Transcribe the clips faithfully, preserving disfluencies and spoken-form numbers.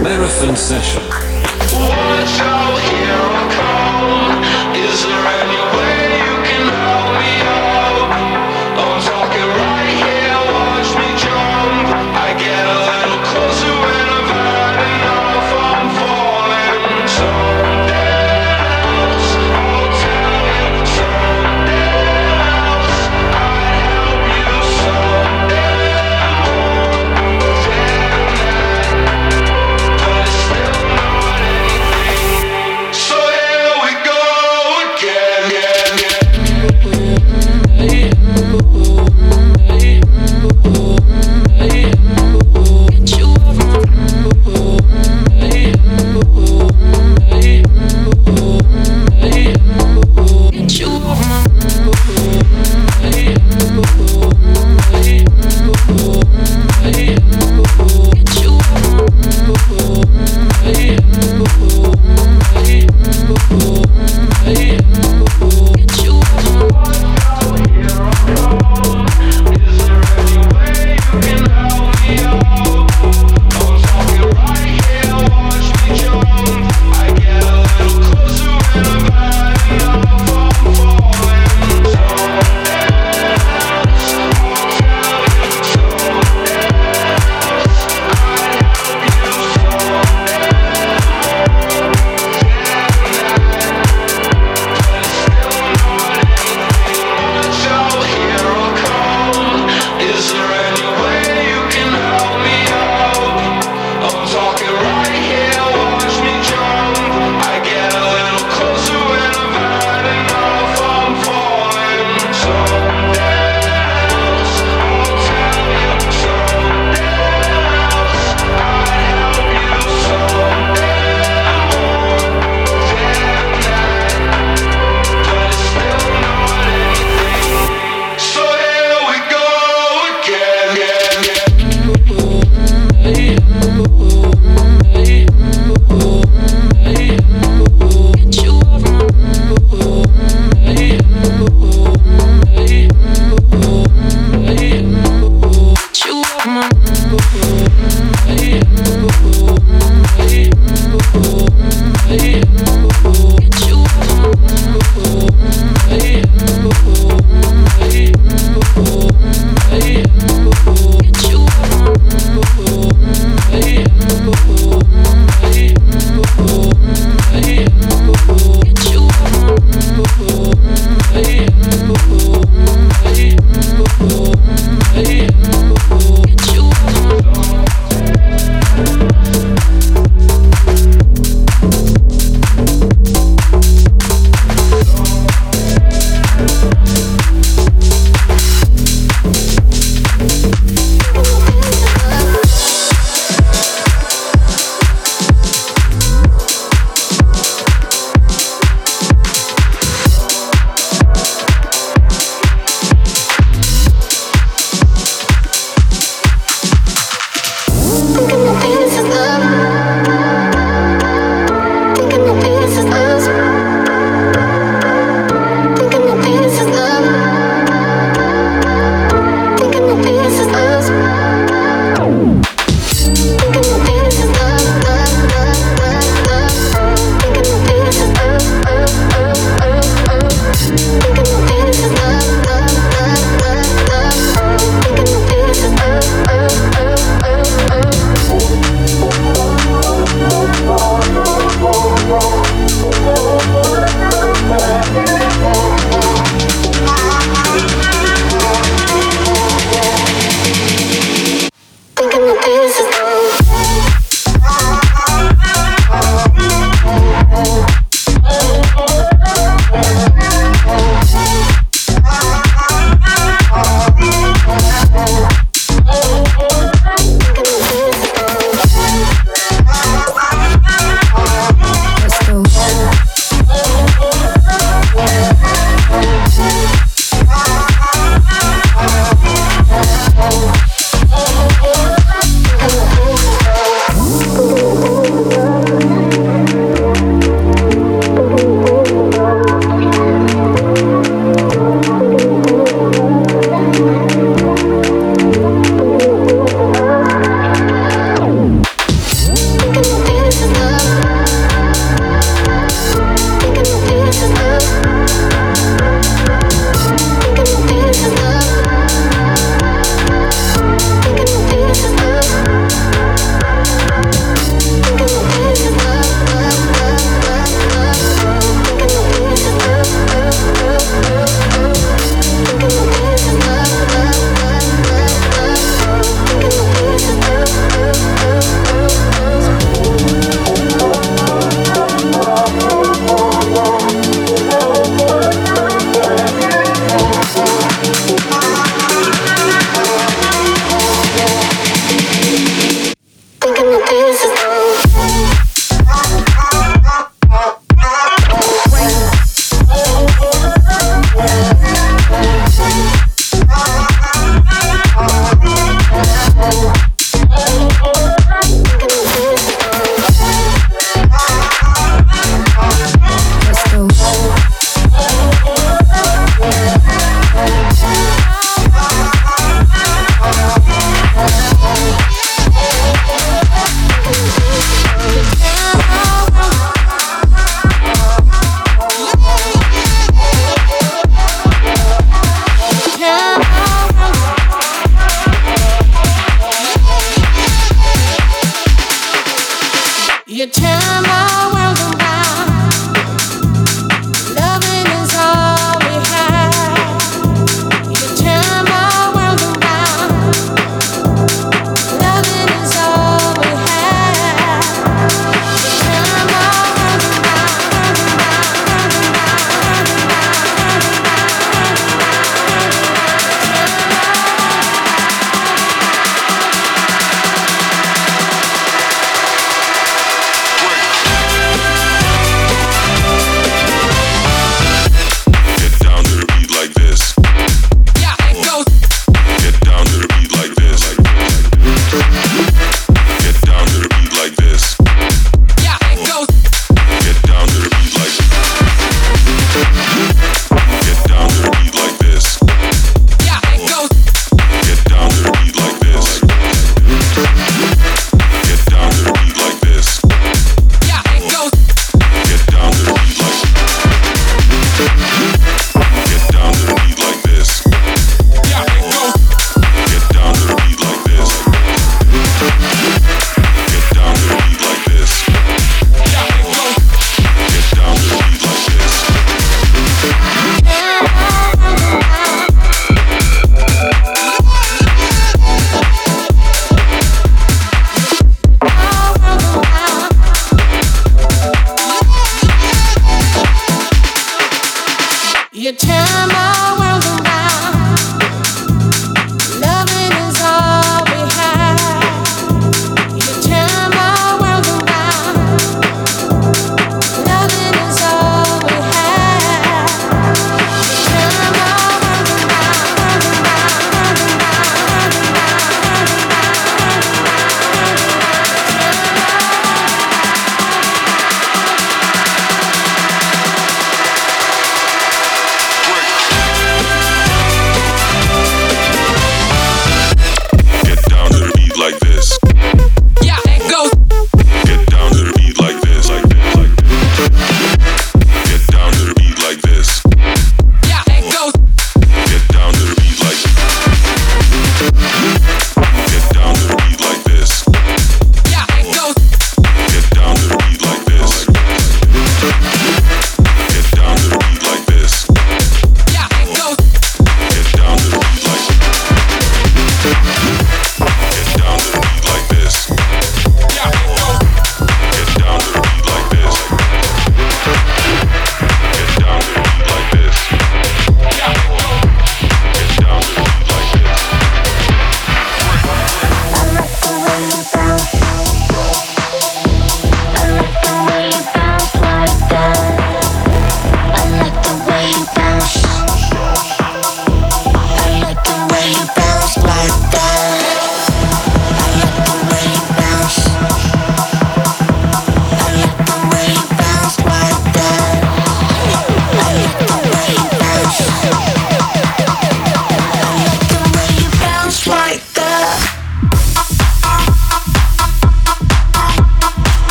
Marathon Session. Watch out, here I come. Is there any way you can help me out? I'm talking right here, watch me jump. I get a little closer when I've had enough. I'm falling someday else. I'll tell you someday else. I'd help you someday more than that. But it's still not anything.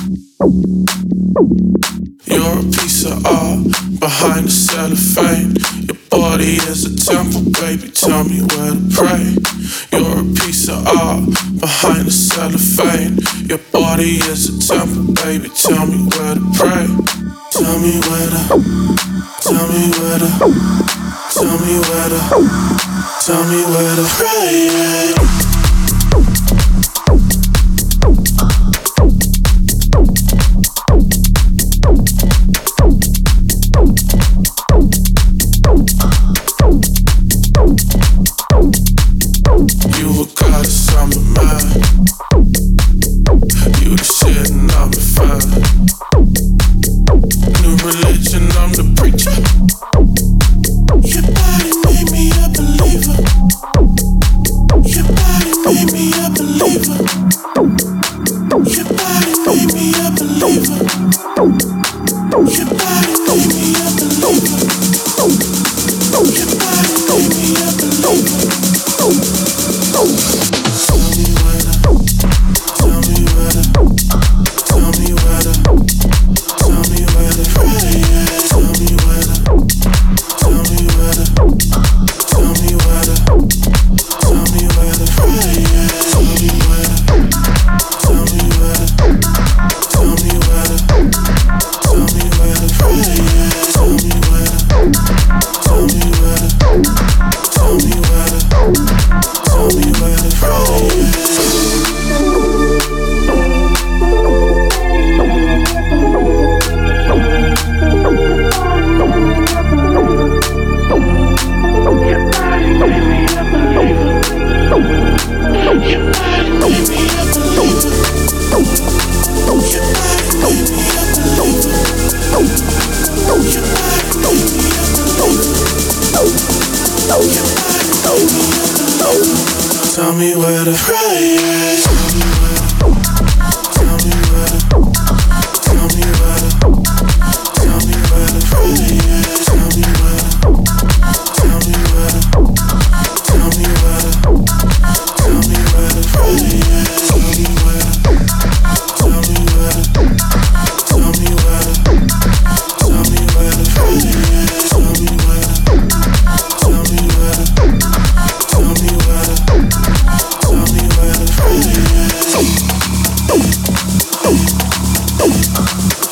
You're a piece of art behind the cellophane. Your body is a temple, baby, tell me where to pray. You're a piece of art behind the cellophane. Your body is a temple, baby, tell me where to pray. Tell me where to, tell me where to, tell me where to, tell me where to pray. You a goddess, I'm a man. You the shit and I'm the fan. New religion, I'm the preacher. Your body made me a believer. Your body made me a believer. Your body made me a believer. Your body made me a believer. Your body made me a believer. Tell me where to, tell me where to, tell me where to, tell me where to pray. Tell me where to, tell me where to, tell me where to, tell me where to pray. Tell me where to, tell me where to, tell me where to, tell me where to pray. Tell me where to, tell me where to, tell me where to. Tell me where to pray. Tell me where to pray. Tell me where to, tell me where to, tell me where to pray. Tell me where to, tell me where to, tell me where to, tell me where to pray. Tell me where to, tell me where to, tell me where to, tell me where to pray. Tell me where to, tell me where to, tell me where to. Tell me where to pray.